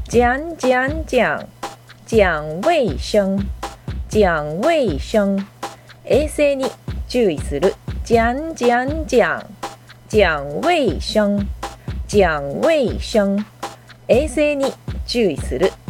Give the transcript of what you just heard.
讲讲讲，讲衛生。講衛生。衛生に注意する。講講講。講衛生。講衛生。衛生に注意する。